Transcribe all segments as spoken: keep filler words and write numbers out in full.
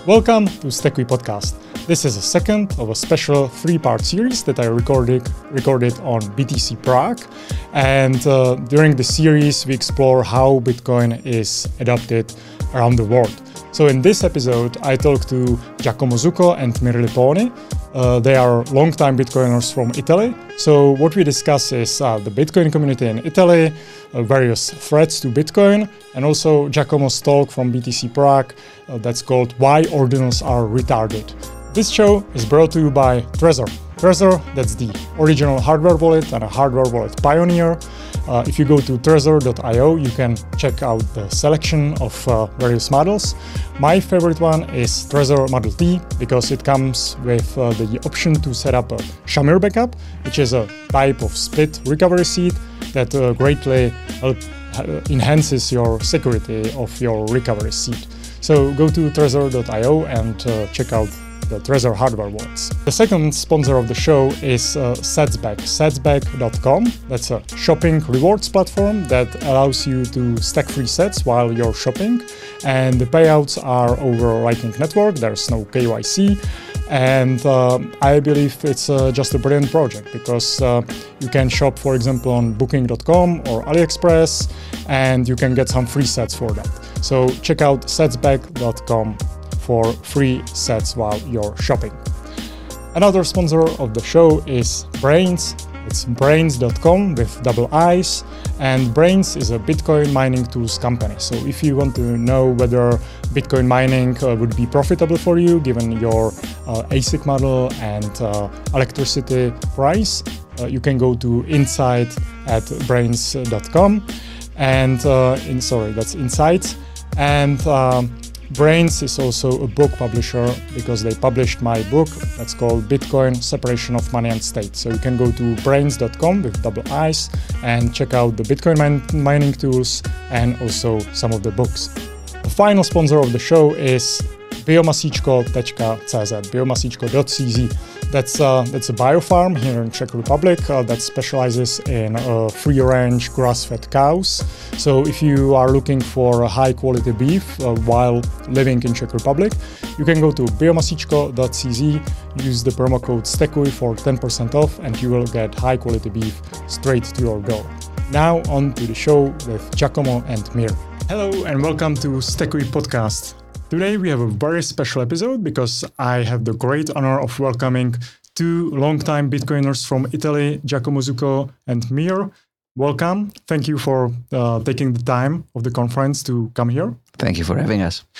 Welcome to Stekui Podcast. This is a second of a special three-part series that I recorded recorded on B T C Prague. And uh, during the series, we explore how Bitcoin is adopted around the world. So in this episode, I talked to Giacomo Zucco and Mir Liponi. Uh, they are longtime Bitcoiners from Italy. So what we discuss is uh, the Bitcoin community in Italy, uh, various threats to Bitcoin, and also Giacomo's talk from B T C Prague uh, that's called Why Ordinals Are Retarded. This show is brought to you by Trezor. Trezor, that's the original hardware wallet and a hardware wallet pioneer. Uh, if you go to trezor dot io, you can check out the selection of uh, various models. My favorite one is Trezor Model T because it comes with uh, the option to set up a Shamir backup, which is a type of split recovery seed that uh, greatly help, uh, enhances your security of your recovery seed. So go to trezor dot io and uh, check out the Trezor hardware wallets. The second sponsor of the show is uh, Setsback, setsback dot com. That's a shopping rewards platform that allows you to stack free sets while you're shopping. And the payouts are over Lightning Network. There's no K Y C. And uh, I believe it's uh, just a brilliant project because uh, you can shop, for example, on booking dot com or AliExpress, and you can get some free sets for that. So check out setsback dot com for free sets while you're shopping. Another sponsor of the show is Braiins. It's braiins dot com with double I's, and Braiins is a Bitcoin mining tools company. So if you want to know whether Bitcoin mining uh, would be profitable for you given your uh, A S I C model and uh, electricity price, uh, you can go to insight at braiins dot com. And uh, in sorry, that's Insights. And um, Braiins is also a book publisher because they published my book that's called Bitcoin Separation of Money and State. So you can go to braiins dot com with double I's and check out the Bitcoin min- mining tools and also some of the books. The final sponsor of the show is biomasičko dot c z, biomasičko dot c z. That's, uh, that's a biofarm here in Czech Republic uh, that specializes in uh, free-range grass-fed cows. So if you are looking for a high-quality beef uh, while living in Czech Republic, you can go to biomasičko dot c z, use the promo code STEKUI for ten percent off, and you will get high-quality beef straight to your door. Now on to the show with Giacomo and Mir. Hello and welcome to Stekui Podcast. Today we have a very special episode because I have the great honor of welcoming two longtime Bitcoiners from Italy, Giacomo Zucco and Mir. Welcome. Thank you for uh, taking the time of the conference to come here. Thank you for having us.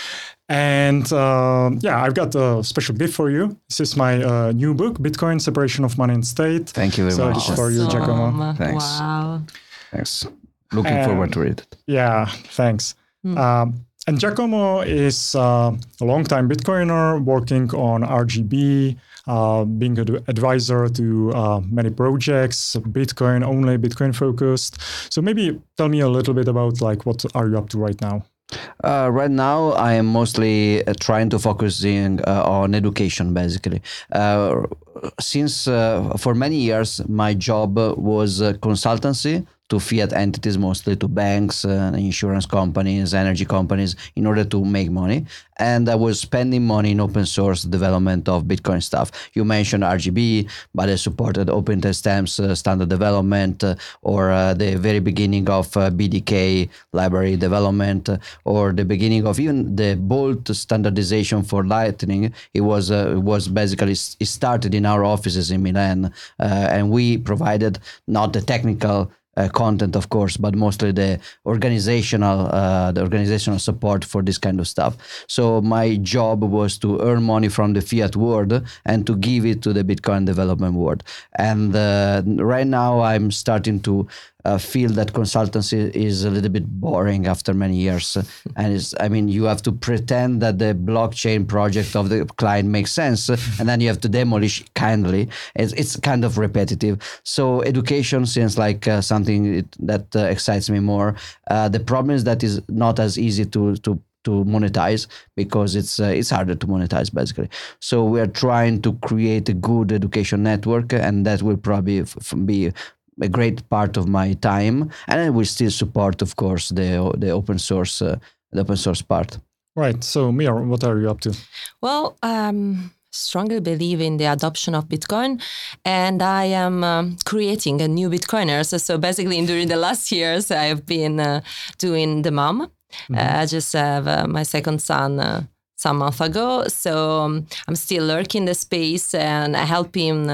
And uh, yeah, I've got a special gift for you. This is my uh, new book, Bitcoin Separation of Money and State. Thank you very so much. So for you, Giacomo. Thanks. Wow. Thanks. Looking and, forward to read it. Yeah, thanks. Mm. Um, And Giacomo is uh, a longtime Bitcoiner working on R G B, uh, being an advisor to uh, many projects, Bitcoin only, Bitcoin focused. So maybe tell me a little bit about like what are you up to right now? Uh, right now, I am mostly uh, trying to focus in, uh, on education, basically. Uh, since uh, for many years, my job was uh, consultancy to fiat entities, mostly to banks, uh, insurance companies, energy companies, in order to make money. And I was spending money in open source development of Bitcoin stuff. You mentioned R G B, but I supported open timestamps, uh, standard development, uh, or uh, the very beginning of uh, B D K library development, uh, or the beginning of even the Bolt standardization for Lightning. It was uh, it was basically it started in our offices in Milan, uh, and we provided not the technical Uh, content, of course, but mostly the organizational, uh, the organizational support for this kind of stuff. So my job was to earn money from the fiat world and to give it to the Bitcoin development world. And uh, right now, I'm starting to uh, feel that consultancy is a little bit boring after many years. And it's, I mean, you have to pretend that the blockchain project of the client makes sense, and then you have to demolish kindly. It's, it's kind of repetitive. So education seems like uh, something it, that uh, excites me more. Uh, the problem is that it's not as easy to to to monetize because it's uh, it's harder to monetize basically. So we are trying to create a good education network, and that will probably f- f- be a great part of my time, and I will still support, of course, the the open source uh, the open source part. Right. So, Mir, what are you up to? Well, um, strongly believe in the adoption of Bitcoin, and I am um, creating a new Bitcoiners. So basically, during the last years, I have been uh, doing the mom. Mm-hmm. Uh, I just have uh, my second son uh, some month ago, so um, I'm still lurking the space and I help him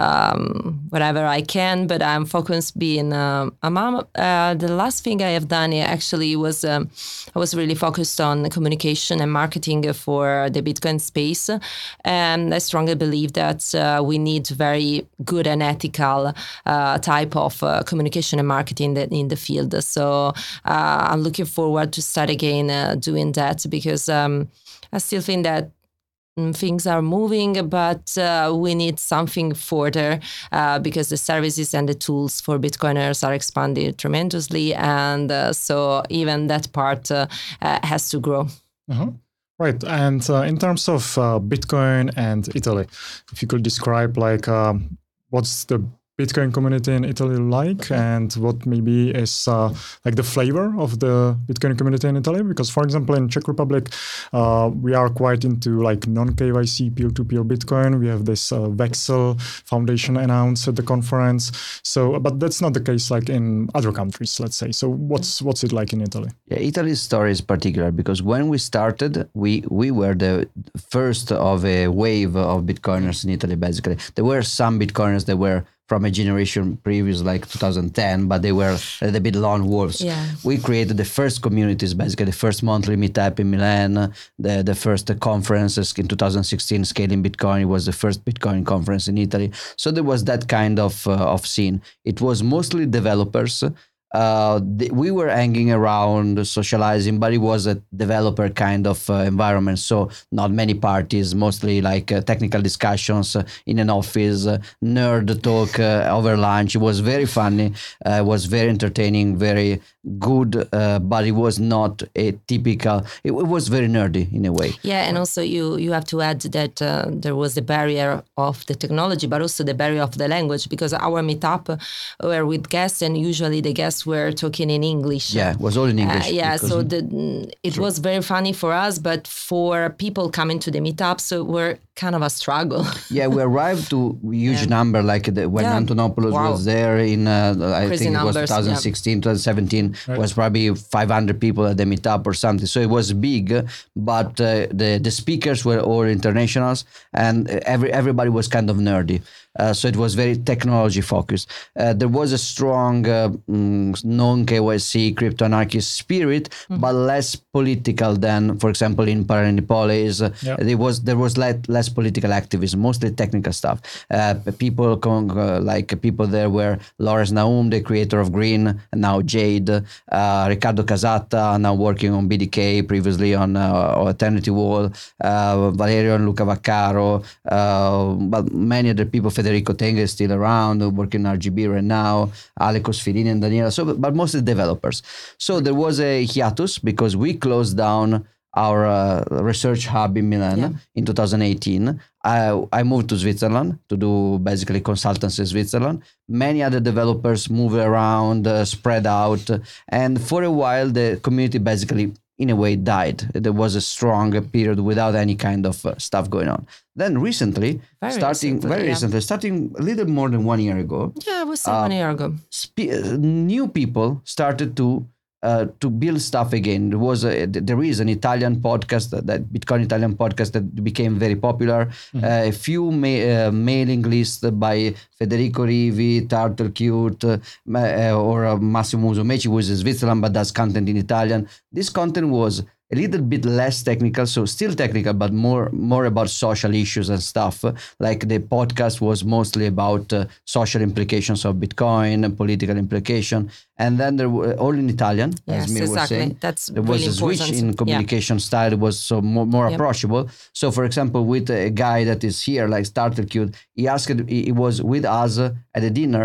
um, whatever I can. But I'm focused being uh, a mom. Uh, the last thing I have done actually was um, I was really focused on communication and marketing for the Bitcoin space, and I strongly believe that uh, we need very good and ethical uh, type of uh, communication and marketing that in the field. So uh, I'm looking forward to start again uh, doing that, because um, I still think that things are moving, but uh, we need something further uh, because the services and the tools for Bitcoiners are expanding tremendously. And uh, so even that part uh, uh, has to grow. Uh-huh. Right. And uh, in terms of uh, Bitcoin and Italy, if you could describe like um, what's the Bitcoin community in Italy like, and what maybe is uh, like the flavor of the Bitcoin community in Italy? Because, for example, in Czech Republic, uh, we are quite into like non-K Y C peer-to-peer Bitcoin. We have this uh, Vexel Foundation announced at the conference. So, but that's not the case like in other countries, let's say. So, what's what's it like in Italy? Yeah, Italy's story is particular because when we started, we we were the first of a wave of Bitcoiners in Italy. Basically, there were some Bitcoiners that were from a generation previous, like two thousand ten, but they were a little bit lone wolves. Yeah. We created the first communities, basically the first monthly meetup in Milan, the, the first conferences in two thousand sixteen, Scaling Bitcoin. It was the first Bitcoin conference in Italy. So there was that kind of, uh, of scene. It was mostly developers. Uh, th- we were hanging around, socializing, but it was a developer kind of uh, environment. So not many parties, mostly like uh, technical discussions uh, in an office, uh, nerd talk uh, over lunch. It was very funny. Uh, it was very entertaining, very good, uh, but it was not a typical, it, it was very nerdy in a way. Yeah, and also you, you have to add that uh, there was the barrier of the technology, but also the barrier of the language, because our meetup were with guests, and usually the guests were talking in English. Yeah, it was all in English. Uh, yeah, so the, it True. was very funny for us, but for people coming to the meetup, so we're kind of a struggle. Yeah, we arrived to a huge yeah. number, like the, when yeah. Antonopoulos wow. was there in, uh, I Crazy think it was numbers, twenty sixteen, yeah. twenty seventeen, right. was probably five hundred people at the meetup or something. So it was big, but uh, the, the speakers were all internationals, and every everybody was kind of nerdy. Uh, so it was very technology focused. Uh, there was a strong uh, mm, non-K Y C crypto anarchist spirit, mm-hmm. but less political than, for example, in Paranipolis. Yep. There was there was less, less political activism, mostly technical stuff. Uh, people con- uh, like people there were Lawrence Naum, the creator of Green, and now Jade. Uh, Riccardo Casata, now working on B D K, previously on uh, Eternity Wall. Uh, Valerio and Luca Vaccaro, uh, but many other people. Federico Tenga is still around, working in R G B right now, Aleko Sfirini and Daniela, so, but mostly developers. So there was a hiatus because we closed down our uh, research hub in Milan yeah. in two thousand eighteen. I, I moved to Switzerland to do basically consultancy in Switzerland. Many other developers moved around, uh, spread out, and for a while the community basically in a way died. There was a strong period without any kind of uh, stuff going on. Then recently, very starting recently, very yeah. recently, starting a little more than one year ago. Yeah, it was uh, one year ago. Spe- new people started to uh, to build stuff again. There was a, there is an Italian podcast, that, that Bitcoin Italian podcast that became very popular. Mm-hmm. Uh, a few ma- uh, mailing lists by Federico Rivi, Turtlecute, uh, or uh, Massimo Musumeci, who is in Switzerland but does content in Italian. This content was a little bit less technical, so still technical, but more more about social issues and stuff. Like the podcast was mostly about uh, social implications of Bitcoin and political implication. And then there were all in Italian, yes, as Mir exactly. was saying. That's there really was a important. switch in communication yeah. style. It was so more, more yep. approachable. So, for example, with a guy that is here, like Startercute, he asked, he was with us at a dinner,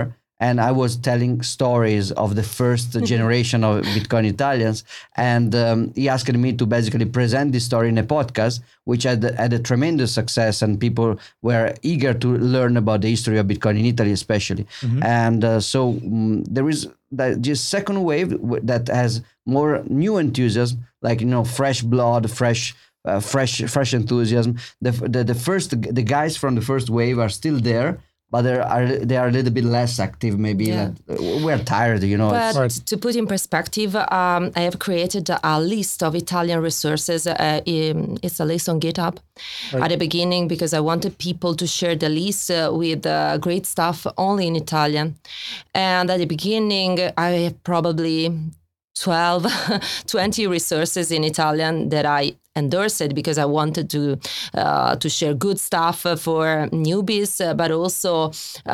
and I was telling stories of the first generation of Bitcoin Italians, and um, he asked me to basically present this story in a podcast, which had, had a tremendous success, and people were eager to learn about the history of Bitcoin in Italy, especially. Mm-hmm. And uh, so um, there is the, this second wave that has more new enthusiasm, like, you know, fresh blood, fresh. Uh, fresh, fresh enthusiasm. The, the the first the guys from the first wave are still there, but they are they are a little bit less active. Maybe yeah. like, we're tired, you know. But right. to put in perspective, um, I have created a list of Italian resources. Uh, in, it's a list on GitHub right. at the beginning, because I wanted people to share the list uh, with uh, great stuff only in Italian. And at the beginning, I have probably twelve, twenty resources in Italian that I endorsed because I wanted to uh, to share good stuff for newbies, uh, but also,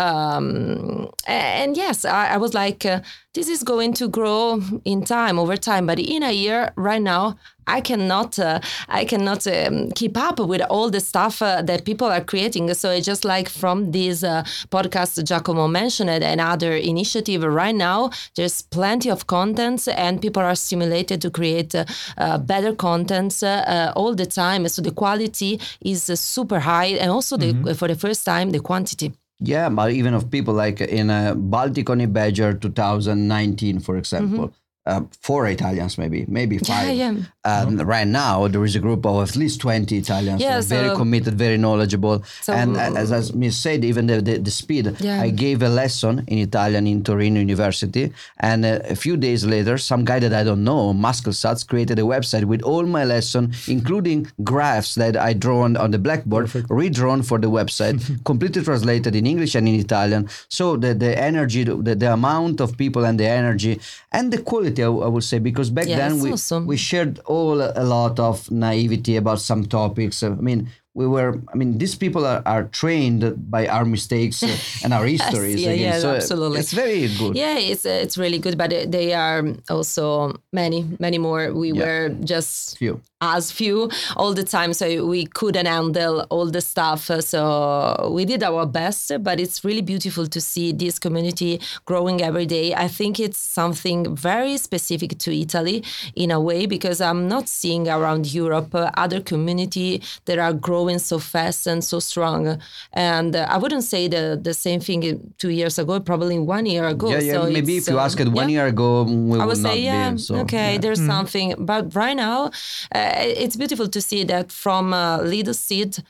um, and yes, I, I was like, uh, this is going to grow in time, over time. But in a year, right now, I cannot, uh, I cannot um, keep up with all the stuff uh, that people are creating. So it's just like from this uh, podcast Giacomo mentioned, another initiative right now, there's plenty of contents and people are stimulated to create uh, uh, better contents uh, all the time. So the quality is uh, super high, and also the, mm-hmm. for the first time, the quantity. Yeah, but even of people like in uh, Balticoni Badger twenty nineteen, for example, mm-hmm. uh, four Italians, maybe, maybe five. Yeah, yeah. Um, right now, there is a group of at least twenty Italians, yeah, so very so, committed, very knowledgeable. So, and as, as Miss said, even the, the, the speed. Yeah. I gave a lesson in Italian in Torino University, and uh, a few days later, some guy that I don't know, Muskelsats, created a website with all my lesson, including graphs that I drawn on the blackboard, Perfect. redrawn for the website, completely translated in English and in Italian. So the, the energy, the, the amount of people and the energy and the quality, I, I would say, because back yeah, then we, awesome. we shared all a lot of naivety about some topics. I mean, we were, I mean, these people are, are trained by our mistakes and our histories. yes, yeah, again. yeah, so absolutely. It's very good. Yeah, it's uh, it's really good, but they are also many, many more. We yeah. were just few. as few all the time, so we couldn't handle all the stuff. So we did our best, but it's really beautiful to see this community growing every day. I think it's something very specific to Italy in a way, because I'm not seeing around Europe uh, other community that are growing so fast and so strong. And uh, I wouldn't say the, the same thing two years ago, probably one year ago. Yeah, yeah. So maybe if you uh, asked it one yeah. year ago, we I would would say, not yeah, be. So, okay, yeah. there's Mm. something. But right now, uh, it's beautiful to see that from uh, little seed,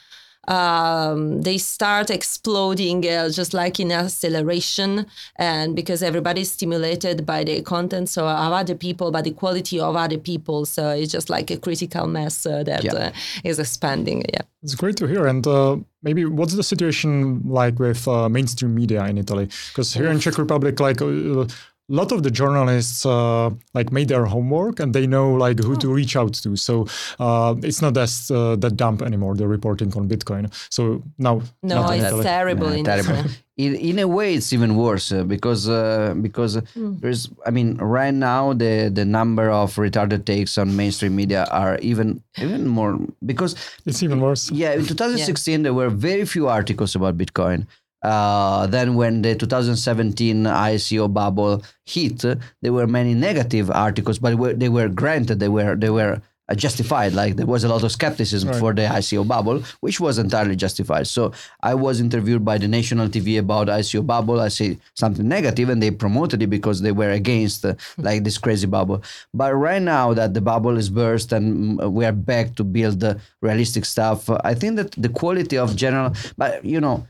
um, they start exploding uh, just like in acceleration, and because everybody's stimulated by the content so of other people, by the quality of other people. So it's just like a critical mass uh, that yeah. uh, is expanding. Yeah, it's great to hear. And uh, maybe what's the situation like with uh, mainstream media in Italy? Because here in Czech Republic, like. Uh, A lot of the journalists uh, like made their homework and they know like who oh. to reach out to. So uh, it's not as uh, that dumb anymore, the reporting on Bitcoin. So now, no, it's Italy. terrible. No, in terrible. in, in a way, it's even worse uh, because uh, because mm. there's. I mean, right now the the number of retarded takes on mainstream media are even even more because it's even worse. Yeah, in twenty sixteen yeah. there were very few articles about Bitcoin. Uh, then when the two thousand seventeen I C O bubble hit, uh, there were many negative articles, but were, they were granted, they were they were uh, justified. Like there was a lot of skepticism right. for the I C O bubble, which was entirely justified. So I was interviewed by the national T V about I C O bubble. I say something negative, and they promoted it because they were against uh, like this crazy bubble. But right now that the bubble is burst and we are back to build the realistic stuff, uh, I think that the quality of general, but you know.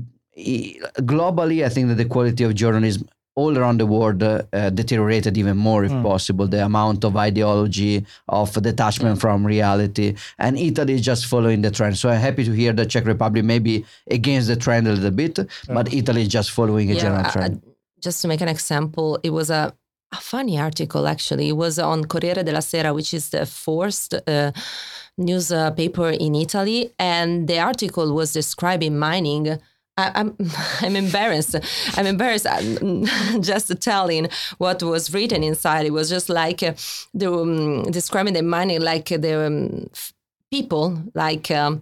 Globally, I think that the quality of journalism all around the world uh, uh, deteriorated even more, if mm. possible. The amount of ideology, of detachment mm. from reality, and Italy is just following the trend. So I'm happy to hear that Czech Republic may be against the trend a little bit, yeah. but Italy is just following a yeah, general trend. I, just to make an example, it was a, a funny article actually. It was on Corriere della Sera, which is the fourth uh, newspaper in Italy, and the article was describing mining. I, I'm I'm embarrassed. I'm embarrassed just telling what was written inside. It was just like uh, the um, describing the mining like the um, people like um,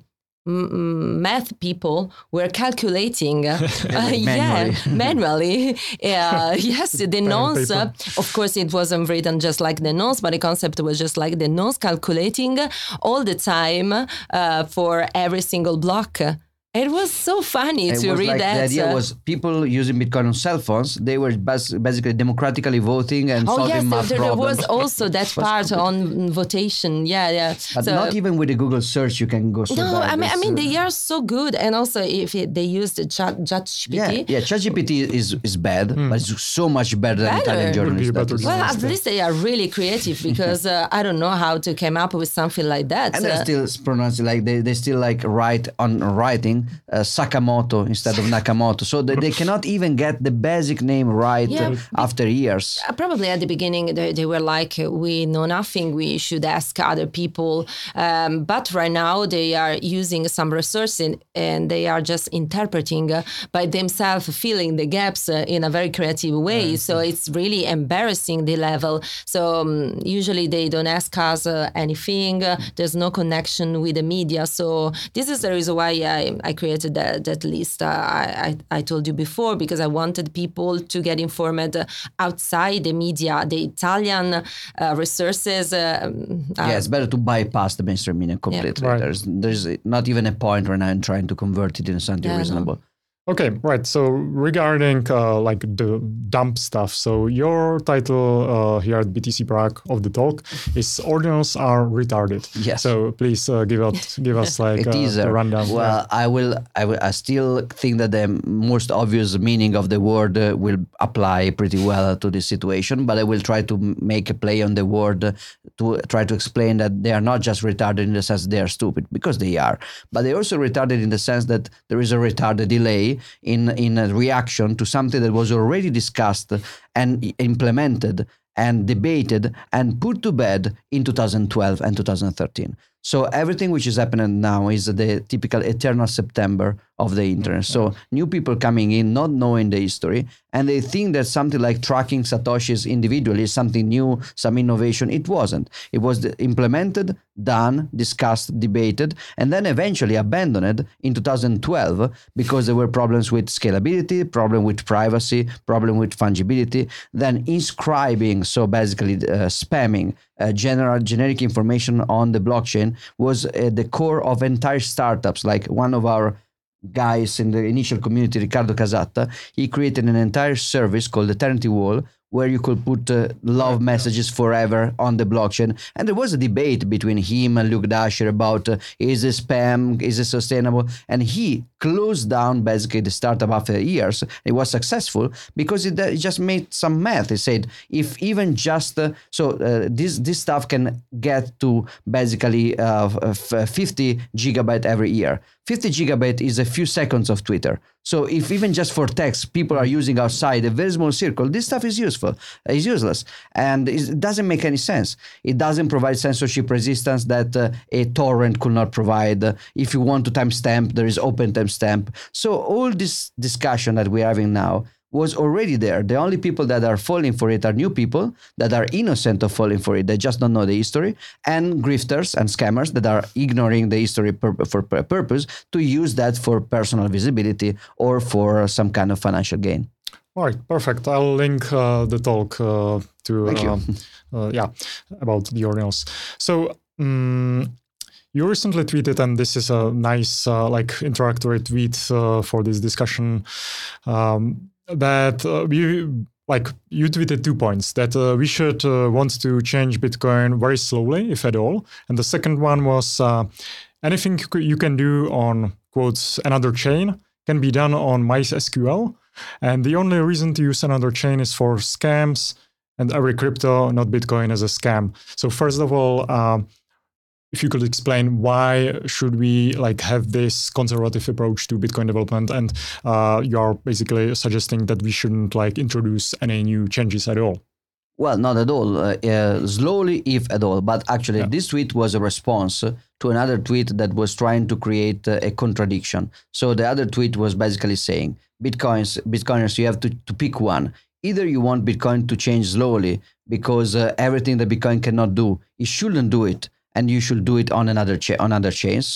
m- math people were calculating, uh, uh, Manually. yeah, manually. Uh, yes, the nonce. Uh, of course, it wasn't written just like the nonce, but the concept was just like the nonce, calculating all the time uh, for every single block. It was so funny It to was read like, that. the idea uh, was people using Bitcoin on cell phones. They were bas- basically democratically voting and Oh solving yes, math there, there problems. was also that part on votation. Yeah, yeah. But So- not even with the Google search you can go so No, bad. I mean, I It's, mean, uh, they are so good, and also if it, they use the Chat ChatGPT. Yeah, yeah. ChatGPT is is bad, Hmm. but it's so much better than Better. Italian Would be journalists. a That better is- Well, journalist. at least they are really creative because uh, I don't know how to come up with something like that. and they're Uh, still pronounced like they, they still like write on writing uh, Sakamoto instead of Nakamoto, so they, they cannot even get the basic name right Yeah. uh, after years. Uh, Probably at the beginning they, they were like, uh, we know nothing, we should ask other people. Um, but right now they are using some resources and they are just interpreting uh, by themselves, filling the gaps uh, in a very creative way. So it's really embarrassing the level. So um, usually they don't ask us uh, anything. Uh, there's no connection with the media. So this is the reason why I, I created that, that list. Uh, I, I, I told you before, because I wanted people to get informed uh, outside the media, the Italian uh, resources. Uh, um, uh, Yeah, it's better to bypass the mainstream media completely. Right. There's there's not even a point when I'm trying to convert it into something Yeah, no. reasonable. Okay, right. So regarding uh, like the dump stuff, so your title uh, here at B T C Prague of the talk is "Ordinals are retarded." Yes. So please uh, give us give us like A uh, teaser. the rundown. Well, I will. I will. I still think that the most obvious meaning of the word uh, will apply pretty well to this situation. But I will try to m- make a play on the word uh, to try to explain that they are not just retarded in the sense that they are stupid, because they are, but they're also retarded in the sense that there is a retarded delay in in a reaction to something that was already discussed and i- implemented and debated and put to bed in two thousand twelve and two thousand thirteen. So everything which is happening now is the typical eternal September of the internet. So new people coming in, not knowing the history, and they think that something like tracking Satoshis individually is something new, some innovation. It wasn't. It was the- implemented, done, discussed, debated, and then eventually abandoned in two thousand twelve because there were problems with scalability, problem with privacy, problem with fungibility, then inscribing, so basically uh, spamming uh, general generic information on the blockchain was at the core of entire startups. Like one of our guys in the initial community, Riccardo Casatta, he created an entire service called Eternity Wall, where you could put uh, love messages forever on the blockchain. And there was a debate between him and Luke Dasher about uh, is it spam, is it sustainable? And he closed down basically the startup after years. It was successful because it, uh, it just made some math. It said if even just, uh, so uh, this, this stuff can get to basically uh, f- fifty gigabyte every year. fifty gigabyte is a few seconds of Twitter. So if even just for text, people are using outside a very small circle, this stuff is useful, is useless. And it doesn't make any sense. It doesn't provide censorship resistance that uh, a torrent could not provide. If you want to timestamp, there is open timestamp. So all this discussion that we're having now was already there. The only people that are falling for it are new people that are innocent of falling for it. They just don't know the history, and grifters and scammers that are ignoring the history pur- for a purpose to use that for personal visibility or for some kind of financial gain. All right, perfect. I'll link uh, the talk uh, to Thank you. um, uh, yeah about the ordinals. So. Um, You recently tweeted, and this is a nice, uh, like, interactory tweet uh, for this discussion. Um, that uh, you, like, you tweeted two points: that uh, we should uh, want to change Bitcoin very slowly, if at all, and the second one was uh, anything you c- you can do on quotes another chain can be done on MySQL, and the only reason to use another chain is for scams, and every crypto, not Bitcoin, is a scam. So first of all. Um, If you could explain why should we like have this conservative approach to Bitcoin development, and uh, you are basically suggesting that we shouldn't like introduce any new changes at all. Well, not at all. Uh, uh, slowly, if at all. But actually, Yeah. this tweet was a response to another tweet that was trying to create uh, a contradiction. So the other tweet was basically saying, Bitcoins, Bitcoiners, you have to, to pick one. Either you want Bitcoin to change slowly because uh, everything that Bitcoin cannot do, it shouldn't do it, and you should do it on another cha- on other chains. So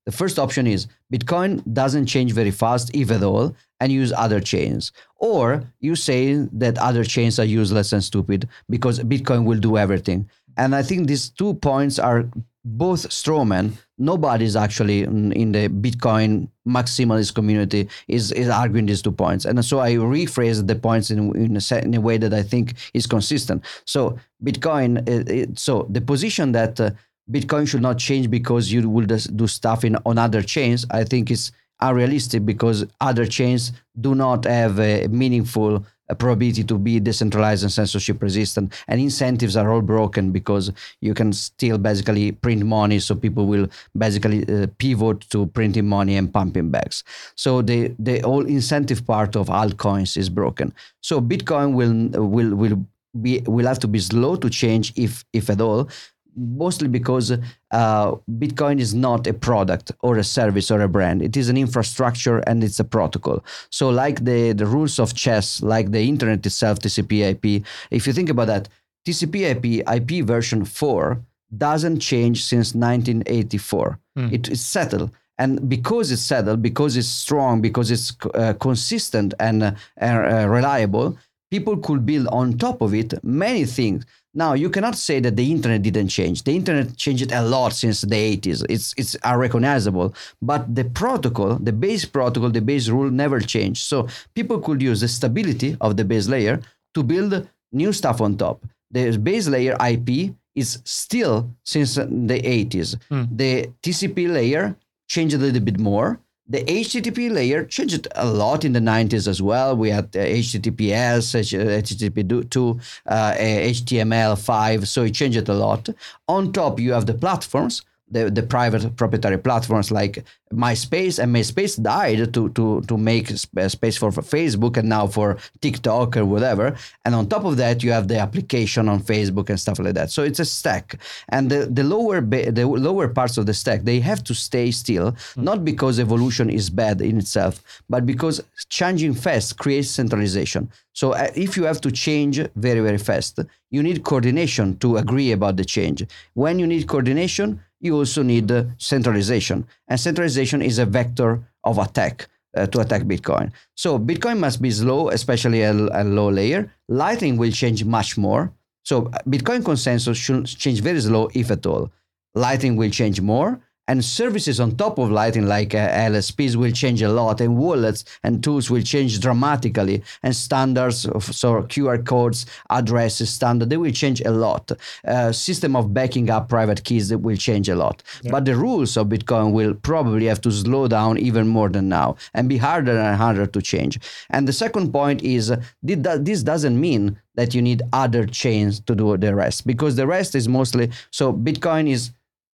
The first option is Bitcoin doesn't change very fast, if at all, and use other chains. Or you say that other chains are useless and stupid because Bitcoin will do everything. And I think these two points are both strawman. Nobody's actually in the Bitcoin maximalist community is, is arguing these two points. And so I rephrase the points in, in, a, in a way that I think is consistent. So Bitcoin, it, it, so the position that uh, Bitcoin should not change because you will do stuff in on other chains, I think is unrealistic because other chains do not have a meaningful probability to be decentralized and censorship resistant, and incentives are all broken because you can still basically print money, so people will basically uh, pivot to printing money and pumping bags. So the the whole incentive part of altcoins is broken. So Bitcoin will will will be will have to be slow to change, if if at all. Mostly because uh, Bitcoin is not a product or a service or a brand. It is an infrastructure and it's a protocol. So like the, the rules of chess, like the internet itself, T C P I P, if you think about that, T C P I P I P version four doesn't change since nineteen eighty-four. Mm. It is settled. And because it's settled, because it's strong, because it's uh, consistent and uh, uh, reliable, people could build on top of it many things. Now, you cannot say that the internet didn't change. The internet changed a lot since the eighties. It's it's unrecognizable. But the protocol, the base protocol, the base rule never changed. So people could use the stability of the base layer to build new stuff on top. The base layer I P is still since the eighties. Mm. The T C P layer changed a little bit more. The H T T P layer changed a lot in the nineties as well. We had uh, H T T P S, H T T P two, uh, H T M L five, so it changed a lot. On top, you have the platforms, the, the private proprietary platforms like MySpace, and MySpace died to to to make space for, for Facebook and now for TikTok or whatever. And on top of that, you have the application on Facebook and stuff like that. So it's a stack. And the, the lower ba- the lower parts of the stack, they have to stay still, mm. not because evolution is bad in itself, but because changing fast creates centralization. So uh, if you have to change very, very fast, you need coordination to agree about the change. When you need coordination, you also need uh, centralization. And centralization is a vector of attack uh, to attack Bitcoin. So Bitcoin must be slow, especially at a low layer. Lightning will change much more. So Bitcoin consensus should change very slow, if at all. Lightning will change more. And services on top of Lightning, like uh, L S Ps, will change a lot, and wallets and tools will change dramatically. And standards, of, so Q R codes, addresses, standard, they will change a lot. Uh, system of backing up private keys, that will change a lot. Yeah. But the rules of Bitcoin will probably have to slow down even more than now and be harder and harder to change. And the second point is, uh, this doesn't mean that you need other chains to do the rest, because the rest is mostly, so Bitcoin is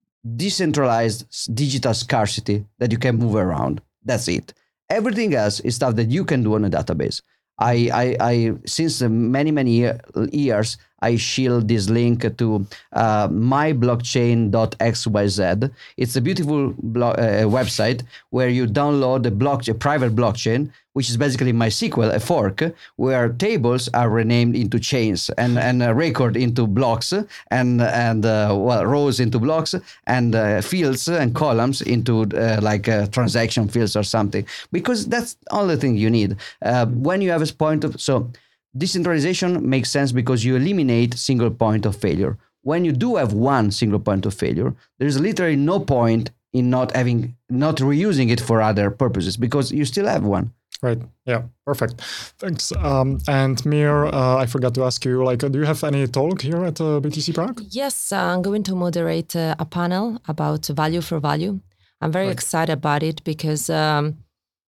decentralized digital scarcity that you can move around. That's it. Everything else is stuff that you can do on a database. I, I, I since many, many year, years, I shield this link to uh, my blockchain dot x y z. It's a beautiful blog, uh, website where you download a, block, a private blockchain, which is basically MySQL, a fork, where tables are renamed into chains and, and a record into blocks and, and uh, well, rows into blocks and uh, fields and columns into uh, like uh, transaction fields or something, because that's the only thing you need. Uh, when you have a point of, so decentralization makes sense because you eliminate single point of failure. When you do have one single point of failure, there's literally no point in not having, not reusing it for other purposes because you still have one. Right. Yeah. Perfect. Thanks. Um, and Mir, uh, I forgot to ask you, like, uh, do you have any talk here at uh, B T C Prague? Yes, uh, I'm going to moderate uh, a panel about value for value. I'm very right. excited about it because um,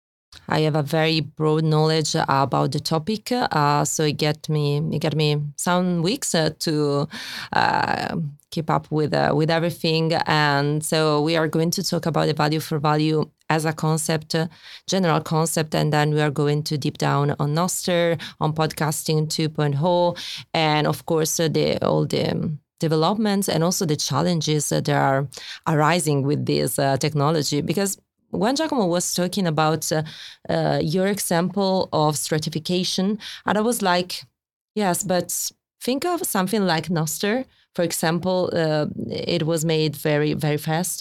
I have a very broad knowledge about the topic. Uh, so it get me, it got me some weeks uh, to uh, keep up with uh, with everything. And so we are going to talk about the value for value as a concept, uh, general concept, and then we are going to deep down on Nostr, on podcasting two point oh, and of course uh, the all the developments and also the challenges that are arising with this uh, technology. Because when Giacomo was talking about uh, uh, your example of stratification, and I was like, yes, but think of something like Nostr for example, uh, it was made very, very fast.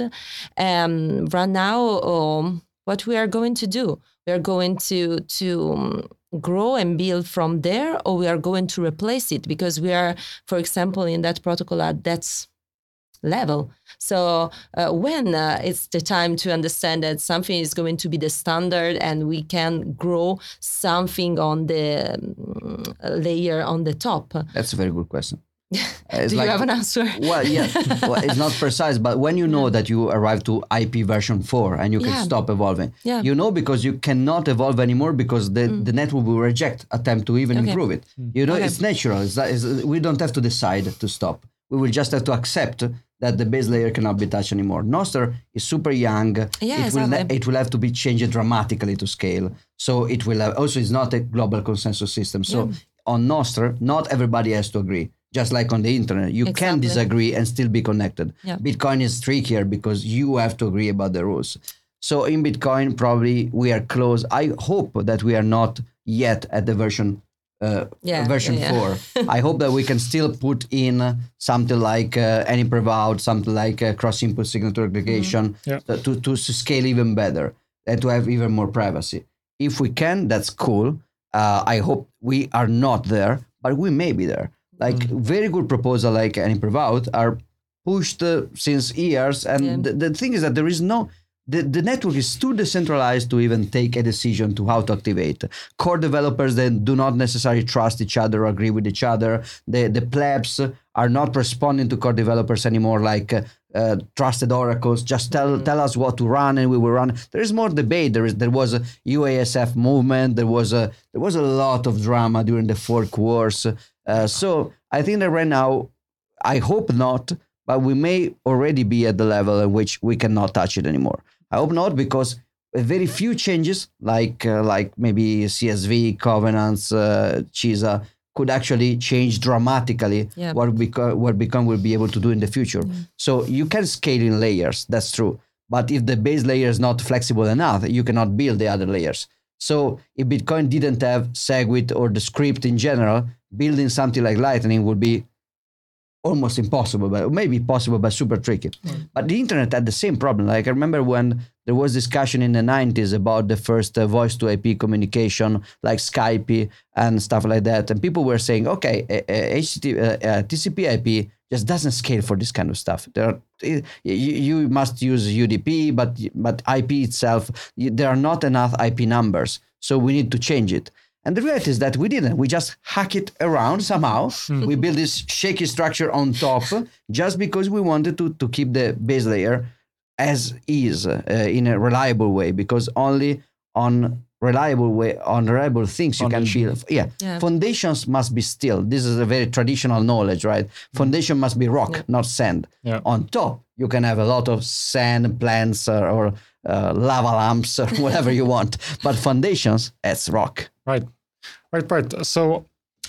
Um, right now, um, what we are going to do, we are going to to um, grow and build from there, or we are going to replace it because we are, for example, in that protocol at that level. So uh, when uh, it's the time to understand that something is going to be the standard and we can grow something on the um, layer on the top. That's a very good question. Uh, Do like, you have an answer? Well, yeah, well, it's not precise, but when you know yeah. that you arrive to I P version four and you can yeah. stop evolving, yeah. you know, because you cannot evolve anymore because the, mm. the network will reject attempt to even okay. improve it. Mm. You know, okay. it's natural. It's, it's, we don't have to decide to stop. We will just have to accept that the base layer cannot be touched anymore. Nostr is super young. Yeah, it, will exactly. it will have to be changed dramatically to scale. So it will have, also it's not a global consensus system. So yeah. on Nostr, not everybody has to agree. Just like on the internet, you exactly. can disagree and still be connected. Yeah. Bitcoin is trickier because you have to agree about the rules. So in Bitcoin, probably we are close. I hope that we are not yet at the version uh, yeah, version yeah, four. yeah. I hope that we can still put in something like uh, any private, something like uh, cross-input signature aggregation mm-hmm. yeah. to, to, to scale even better and to have even more privacy. If we can, that's cool. Uh, I hope we are not there, but we may be there. Like mm. very good proposal like any private are pushed uh, since years. And yeah. the, the thing is that there is no, the, the network is too decentralized to even take a decision to how to activate. Core developers then do not necessarily trust each other or agree with each other. The, the plebs are not responding to core developers anymore like uh, uh, trusted oracles. Just tell mm. tell us what to run and we will run. There is more debate. There is there was a U A S F movement. There was a there was a lot of drama during the fork wars. Uh, so I think that right now, I hope not, but we may already be at the level at which we cannot touch it anymore. I hope not, because very few changes, like uh, like maybe C S V, Covenants, uh, Chisa, could actually change dramatically yeah. what, beco- what Bitcoin will be able to do in the future. Yeah. So you can scale in layers, that's true. But if the base layer is not flexible enough, you cannot build the other layers. So if Bitcoin didn't have SegWit or the script in general, building something like Lightning would be almost impossible, but maybe possible, but super tricky. Mm. But the internet had the same problem. Like I remember when there was discussion in the nineties about the first uh, voice to I P communication, like Skype and stuff like that. And people were saying, okay, uh, uh, H T T P, uh, uh, T C P I P just doesn't scale for this kind of stuff. There are, you, you must use U D P, but, but I P itself, there are not enough I P numbers. So we need to change it. And the reality is that we didn't. We just hack it around somehow. Mm. We built this shaky structure on top just because we wanted to, to keep the base layer as is uh, in a reliable way, because only on reliable way, on reliable things you Foundation. Can build. Yeah. yeah. Foundations must be still. This is a very traditional knowledge, right? Foundation must be rock, yeah. not sand. Yeah. On top, you can have a lot of sand plants or, or uh, lava lamps or whatever you want. But foundations, it's rock. Right. Right, right. So,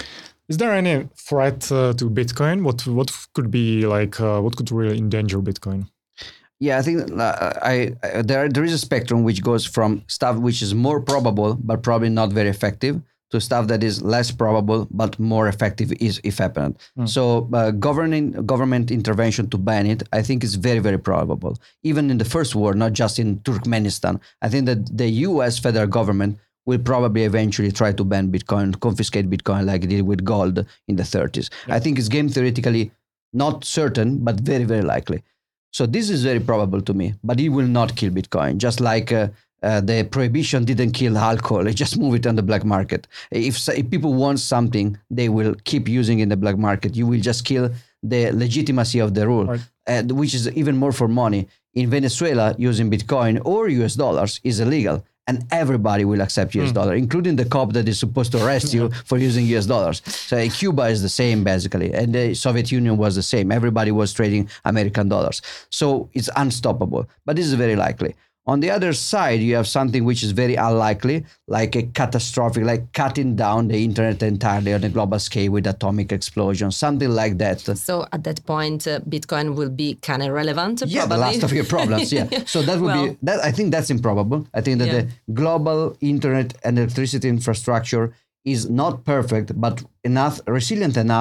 is there any threat uh, to Bitcoin? What what could be like? Uh, what could really endanger Bitcoin? Yeah, I think uh, I, I there there is a spectrum which goes from stuff which is more probable but probably not very effective to stuff that is less probable but more effective is if happened. Mm. So, uh, governing government intervention to ban it, I think is very very probable. Even in the first war, not just in Turkmenistan, I think that the U S federal government will probably eventually try to ban Bitcoin, confiscate Bitcoin like it did with gold in the thirties. Yeah. I think it's game theoretically not certain, but very, very likely. So this is very probable to me, but it will not kill Bitcoin. Just like uh, uh, the prohibition didn't kill alcohol, it just moved it on the black market. If, if people want something, they will keep using it in the black market. You will just kill the legitimacy of the rule, right. uh, which is even more for money. In Venezuela, using Bitcoin or U S dollars is illegal. And everybody will accept U S mm. dollar, including the cop that is supposed to arrest you for using U S dollars. So in Cuba is the same, basically. And the Soviet Union was the same. Everybody was trading American dollars. So it's unstoppable. But this is very likely. On the other side, you have something which is very unlikely, like a catastrophic, like cutting down the internet entirely on a global scale with atomic explosion, something like that. So at that point, uh, Bitcoin will be kind of relevant, yeah, probably. The last of your problems, yeah. So that would well, be, that. I think that's improbable. I think that yeah. the global internet and electricity infrastructure is not perfect, but enough, resilient enough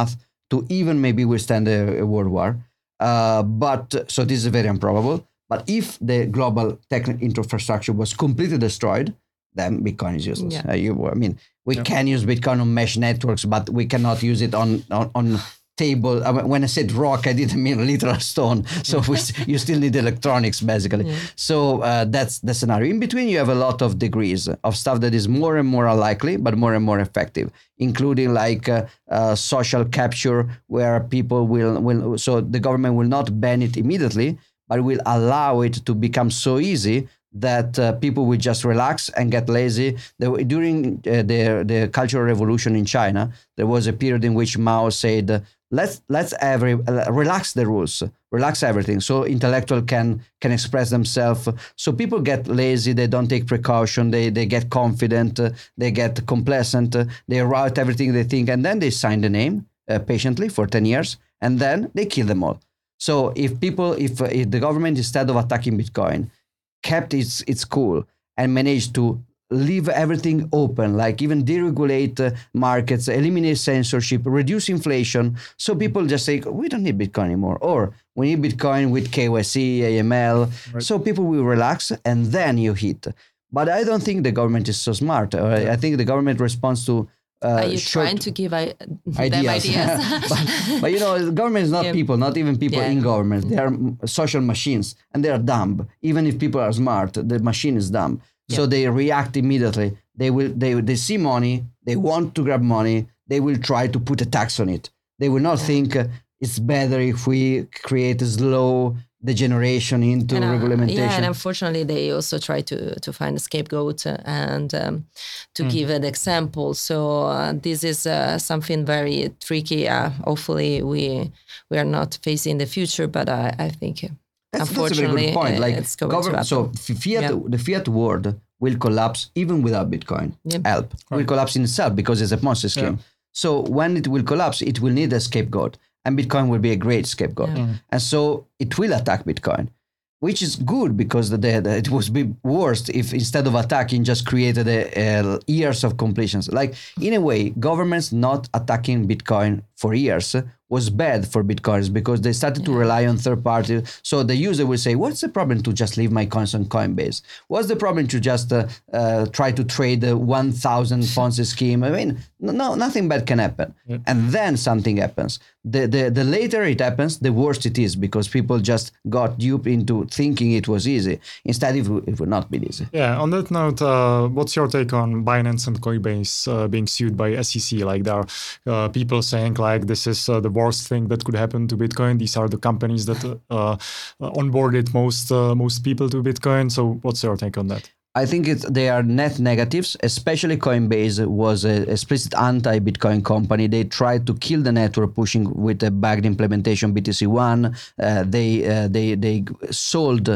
to even maybe withstand a, a world war. Uh, but so this is very improbable. But if the global tech infrastructure was completely destroyed, then Bitcoin is useless. Yeah. Uh, you, I mean, we Yeah. can use Bitcoin on mesh networks, but we cannot use it on on, on table. I mean, when I said rock, I didn't mean literal stone. So we, you still need electronics, basically. Yeah. So uh, that's the scenario. In between, you have a lot of degrees of stuff that is more and more unlikely, but more and more effective, including like uh, uh, social capture, where people will, will, so the government will not ban it immediately, but will allow it to become so easy that uh, people will just relax and get lazy. There, were- during uh, the, the Cultural Revolution in China, there was a period in which Mao said, uh, let's let's every, uh, relax the rules, relax everything, so intellectual can can express themselves. So people get lazy, they don't take precaution, they they get confident, uh, they get complacent, uh, they write everything they think, and then they sign the name uh, patiently for ten years, and then they kill them all. So if people, if, uh, if the government, instead of attacking Bitcoin, kept its its cool and managed to leave everything open, like even deregulate uh, markets, eliminate censorship, reduce inflation, so people just say, we don't need Bitcoin anymore, or we need Bitcoin with K Y C, A M L, Right. so people will relax, and then you hit. But I don't think the government is so smart. Uh, I think the government responds to uh, Are you short- trying to give I- them ideas. ideas? but, but you know, the government is not Yeah. people, not even people Yeah. in government. They are mm, social machines, and they are dumb. Even if people are smart, the machine is dumb. So Yeah. they react immediately. They will. They they see money. They want to grab money. They will try to put a tax on it. They will not think uh, it's better if we create a slow degeneration into And, uh, regulation. Yeah, and unfortunately, they also try to to find a scapegoat uh, and um, to give an example. So uh, this is uh, something very tricky. Uh, hopefully, we we are not facing the future, but I, I think uh, That's, that's a very unfortunately good point. uh, Like it's going to government, happen. so f- fiat, Yeah. the fiat world will collapse even without Bitcoin. Yeah. Help will Right. collapse in itself because it's a Ponzi scheme. Yeah. So when it will collapse, it will need a scapegoat, and Bitcoin will be a great scapegoat. Yeah. And so it will attack Bitcoin, which is good because the, the, it would be worse if instead of attacking, just created a, a years of completions. Like in a way, governments not attacking Bitcoin for years was bad for Bitcoiners because they started to rely on third parties. So the user will say, what's the problem to just leave my coins on Coinbase? What's the problem to just uh, uh, try to trade the one thousand Ponzi scheme? I mean, no, nothing bad can happen. Yeah. And then something happens. The, the, the later it happens, the worse it is because people just got duped into thinking it was easy. Instead, it, would- it would not be easy. Yeah, on that note, uh, what's your take on Binance and Coinbase uh, being sued by S E C? Like there are uh, people saying like this is uh, the worst thing that could happen to Bitcoin. These are the companies that uh, uh, onboarded most uh, most people to Bitcoin. So what's your take on that? I think it's, they are net negatives, especially Coinbase was a explicit anti-Bitcoin company. They tried to kill the network pushing with a backed implementation B T C one. Uh, they, uh, they, they sold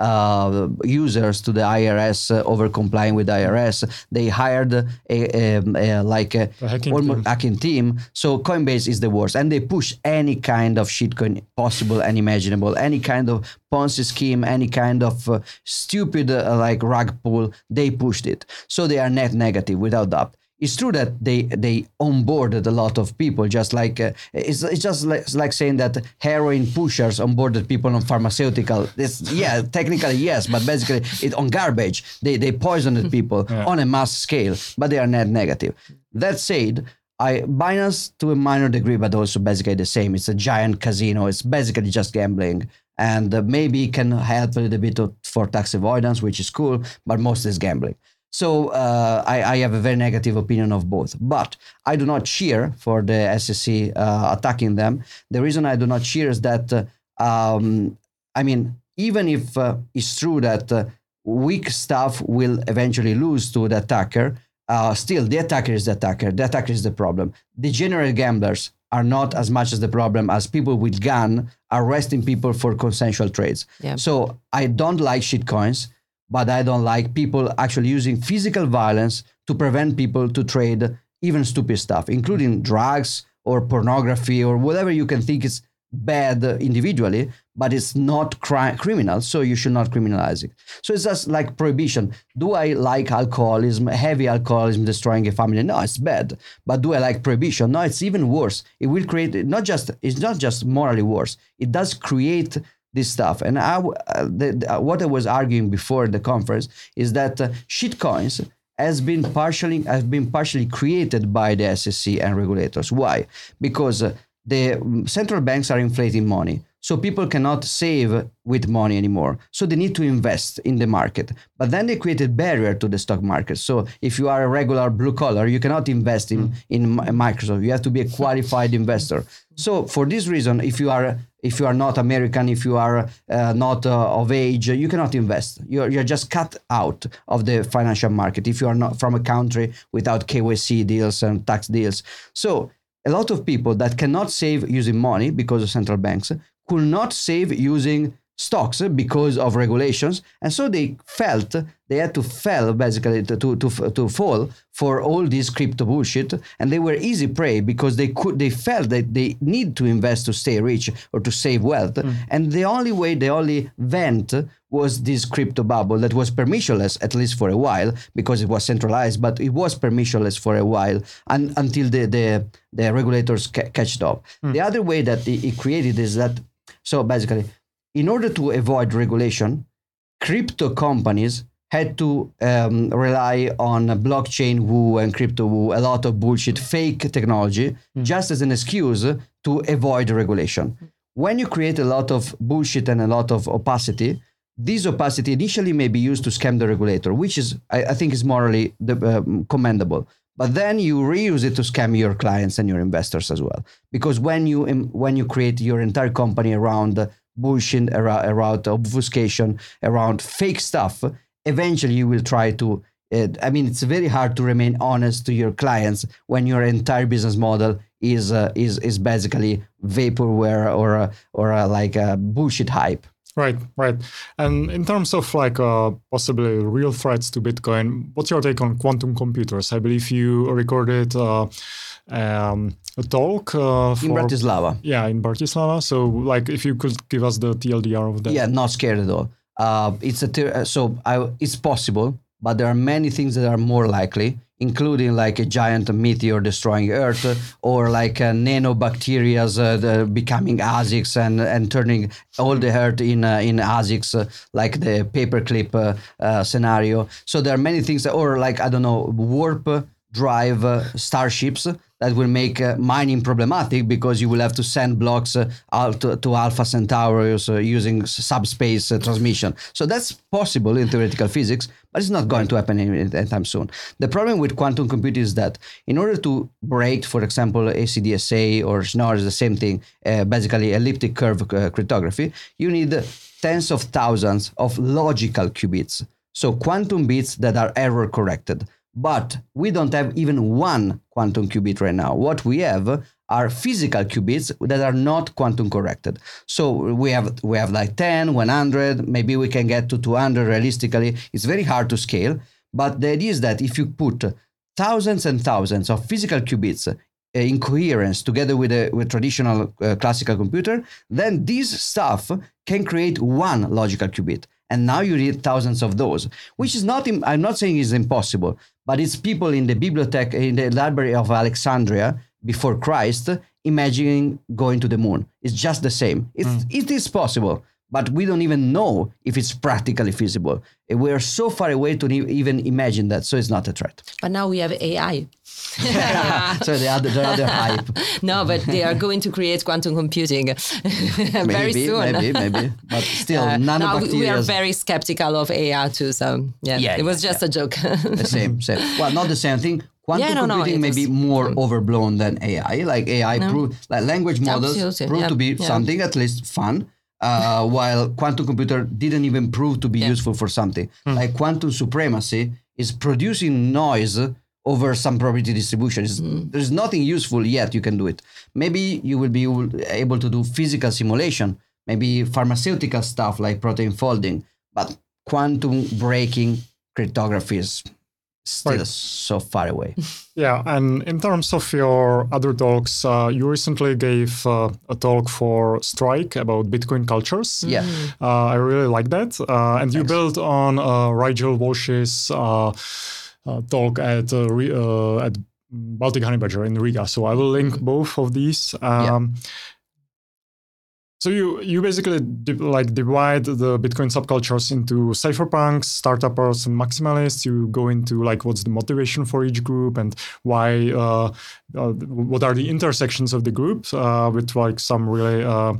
uh, users to the I R S uh, over complying with I R S. They hired a, a, a like a, A hacking almost team. hacking team. So Coinbase is the worst, and they push any kind of shitcoin possible and imaginable, any kind of Ponzi scheme, any kind of uh, stupid uh, like rug pull. They pushed it, so they are net negative without doubt. It's true that they they onboarded a lot of people, just like uh, it's, it's just like, it's like saying that heroin pushers onboarded people on pharmaceutical. It's, yeah, technically yes, but basically it on garbage. They they poisoned people Yeah. on a mass scale, but they are net negative. That said, I Binance to a minor degree, but also basically the same. It's a giant casino. It's basically just gambling, and uh, maybe can help a little bit of, for tax avoidance, which is cool, but most is gambling. So uh, I, I have a very negative opinion of both, but I do not cheer for the S E C uh, attacking them. The reason I do not cheer is that, uh, um, I mean, even if uh, it's true that uh, weak stuff will eventually lose to the attacker, uh, still the attacker is the attacker. The attacker is the problem. Degenerate gamblers are not as much as the problem as people with gun arresting people for consensual trades. Yeah. So I don't like shitcoins, but I don't like people actually using physical violence to prevent people to trade even stupid stuff, including drugs or pornography or whatever you can think is bad individually, but it's not cri- criminal, so you should not criminalize it. So it's just like prohibition. Do I like alcoholism, heavy alcoholism destroying a family? No, it's bad. But do I like prohibition? No, it's even worse. It will create, not just, it's not just morally worse, it does create this stuff. And I, uh, the, the, what I was arguing before the conference is that uh, shitcoins has been partially has been partially created by the S E C and regulators. Why? Because uh, the central banks are inflating money, so people cannot save with money anymore. So they need to invest in the market. But then they created barrier to the stock market. So if you are a regular blue collar, you cannot invest in, mm. in Microsoft. You have to be a qualified investor. So for this reason, if you are if you are not American, if you are uh, not uh, of age, you cannot invest. You're, you're just cut out of the financial market if you are not from a country without K Y C deals and tax deals. So a lot of people that cannot save using money because of central banks could not save using stocks because of regulations, and so they felt they had to fall basically to to to, to fall for all this crypto bullshit, and they were easy prey because they could they felt that they need to invest to stay rich or to save wealth, mm. and the only way, the only vent was this crypto bubble that was permissionless, at least for a while, because it was centralized, but it was permissionless for a while and, until the the, the regulators ca- catched up. Mm. The other way that it, it created is that, so basically, in order to avoid regulation, crypto companies had to um, rely on blockchain woo and crypto woo, a lot of bullshit, fake technology, mm. just as an excuse to avoid regulation. When you create a lot of bullshit and a lot of opacity, this opacity initially may be used to scam the regulator, which is, I, I think, is morally uh, commendable. But then you reuse it to scam your clients and your investors as well. Because when you when you create your entire company around bullshit, around, around obfuscation, around fake stuff, eventually you will try to, uh, I mean, it's very hard to remain honest to your clients when your entire business model is uh, is is basically vaporware or uh, or uh, like a bullshit hype. Right, right. And in terms of like uh, possibly real threats to Bitcoin, what's your take on quantum computers? I believe you recorded uh, um, a talk uh, for, in Bratislava. Yeah, in Bratislava. So, like, if you could give us the T L D R of that. Yeah, not scared at all. Uh, it's a ter- so I, it's possible, but there are many things that are more likely, including like a giant meteor destroying Earth, or like uh, nanobacteria uh, becoming ASICs and, and turning all the Earth in uh, in ASICs, uh, like the paperclip uh, uh, scenario. So there are many things, that, or like, I don't know, warp drive uh, starships that will make uh, mining problematic because you will have to send blocks uh, out to, to Alpha Centaurus uh, using subspace uh, transmission. So that's possible in theoretical physics, but it's not going to happen anytime soon. The problem with quantum computing is that in order to break, for example, A C D S A or Schnorr is the same thing, uh, basically elliptic curve uh, cryptography, you need tens of thousands of logical qubits. So quantum bits that are error corrected. But we don't have even one quantum qubit right now. What we have are physical qubits that are not quantum corrected. So we have we have like ten, one hundred, maybe we can get to two hundred realistically. It's very hard to scale. But the idea is that if you put thousands and thousands of physical qubits uh, in coherence together with a with traditional uh, classical computer, then this stuff can create one logical qubit. And now you need thousands of those, which is not, I'm not saying it's impossible, but it's people in the bibliothèque, in the library of Alexandria before Christ, imagining going to the moon. It's just the same. It's, mm. It is possible, but we don't even know if it's practically feasible. We are so far away to even imagine that, so it's not a threat. But now we have A I. So the other, the other hype. No, but they are going to create quantum computing very maybe, soon. Maybe, maybe, but still, uh, nanobacteria. No, we are very skeptical of A I too. So yeah, yeah it was yeah, just yeah. a joke. The same, same. Well, not the same thing. Quantum yeah, no, computing no, may be more overblown than A I. Like A I, no. prove, like language models Absolutely. prove yeah. to be yeah. something at least fun. Uh, while quantum computer didn't even prove to be yeah. useful for something. Mm. Like quantum supremacy is producing noise over some probability distribution. Mm. There's nothing useful yet you can do it. Maybe you will be able to do physical simulation, maybe pharmaceutical stuff like protein folding, but quantum breaking cryptography is still Right. so far away. Yeah, and in terms of your other talks, uh, you recently gave uh, a talk for Strike about Bitcoin cultures. Yeah. Uh, I really like that. Uh, and you Thanks. built on uh, Rigel Walsh's uh, uh, talk at uh, Re- uh, at Baltic Honey Badger in Riga. So I will link both of these. Um, So you you basically di- like divide the Bitcoin subcultures into cypherpunks, startuppers, and maximalists. You go into like what's the motivation for each group and why. Uh, uh, what are the intersections of the group uh, with like some really uh,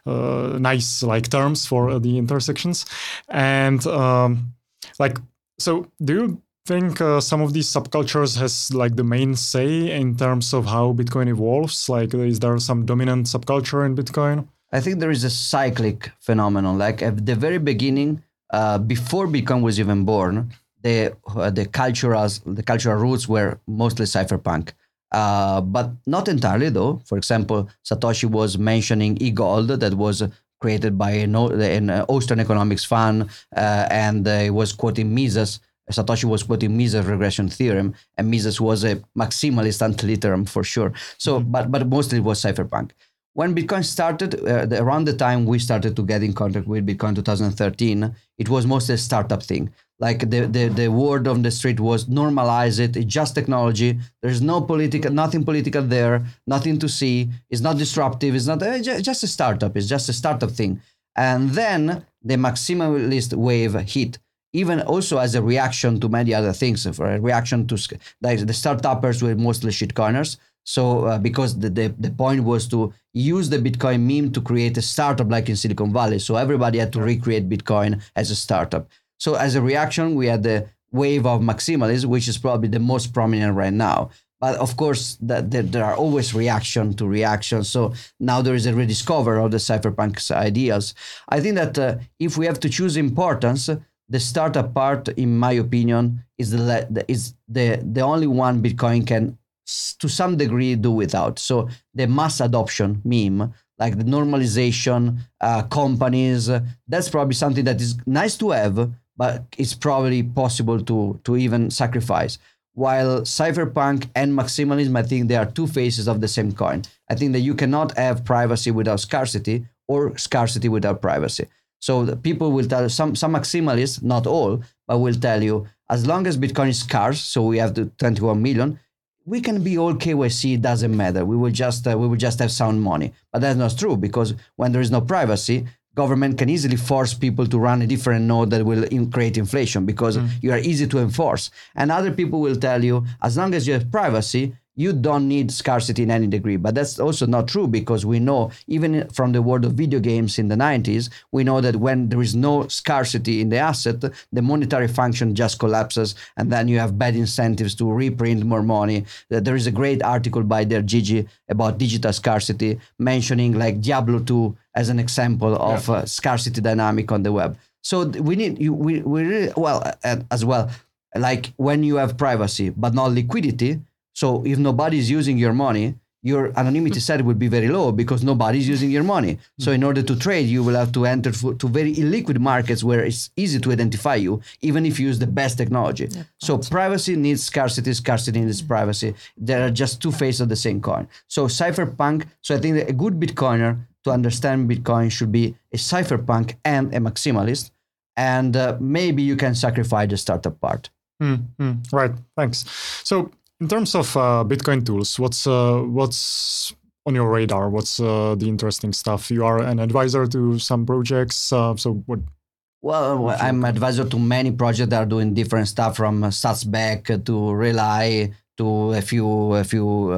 uh, nice like terms for uh, the intersections, and um, like so. Do you think uh, some of these subcultures has like the main say in terms of how Bitcoin evolves? Like, is there some dominant subculture in Bitcoin? I think there is a cyclic phenomenon. Like at the very beginning, uh, before Bitcoin was even born, the uh, the cultural the cultural roots were mostly cypherpunk, uh, but not entirely though. For example, Satoshi was mentioning e-gold that was created by an, an Austrian economics fund, uh, and uh, he was quoting Mises. Satoshi was quoting Mises' regression theorem, and Mises was a maximalist antiliterum for sure. So, mm-hmm. but but mostly it was cypherpunk. When Bitcoin started, uh, the, around the time we started to get in contact with Bitcoin twenty thirteen, it was mostly a startup thing. Like the, the, the word on the street was normalize it, it's just technology. There's no political, nothing political there, nothing to see. It's not disruptive, it's not, uh, just a startup, it's just a startup thing. And then the maximalist wave hit, even also as a reaction to many other things, for a reaction to like the startuppers were mostly shitcoiners. So uh, because the, the, the point was to use the Bitcoin meme to create a startup like in Silicon Valley. So everybody had to recreate Bitcoin as a startup. So as a reaction, we had the wave of maximalism, which is probably the most prominent right now. But of course, that there, there are always reaction to reaction. So now there is a rediscover of the cypherpunk ideas. I think that uh, if we have to choose importance, the startup part, in my opinion, is the is the, the only one Bitcoin can to some degree do without. So the mass adoption meme, like the normalization, uh, companies, uh, that's probably something that is nice to have, but it's probably possible to, to even sacrifice. While cypherpunk and maximalism, I think they are two faces of the same coin. I think that you cannot have privacy without scarcity or scarcity without privacy. So the people will tell some, some maximalists, not all, but will tell you, as long as Bitcoin is scarce, so we have the twenty-one million, we can be all K Y C, it doesn't matter. We will just uh, we will just have sound money. But that's not true, because when there is no privacy, government can easily force people to run a different node that will in- create inflation, because mm. you are easy to enforce. And other people will tell you, as long as you have privacy, you don't need scarcity in any degree. But that's also not true, because we know, even from the world of video games in the nineties, we know that when there is no scarcity in the asset, the monetary function just collapses, and then you have bad incentives to reprint more money. There is a great article by Der Gigi about digital scarcity, mentioning like Diablo two as an example of yeah. uh, scarcity dynamic on the web. So we need, you, we, we really, well, uh, as well, like when you have privacy, but not liquidity. So if nobody is using your money, your anonymity set will be very low, because nobody is using your money. So in order to trade, you will have to enter to very illiquid markets where it's easy to identify you, even if you use the best technology. Yeah, so privacy needs scarcity, scarcity needs yeah. privacy. There are just two faces of the same coin. So cypherpunk, so I think that a good Bitcoiner to understand Bitcoin should be a cypherpunk and a maximalist. And uh, maybe you can sacrifice the startup part. Mm-hmm. Right, thanks. So in terms of uh, Bitcoin tools, what's uh, what's on your radar? What's uh, the interesting stuff? You are an advisor to some projects, uh, so what? Well, well I'm advisor to many projects that are doing different stuff, from uh, Satsback to Relay to a few a few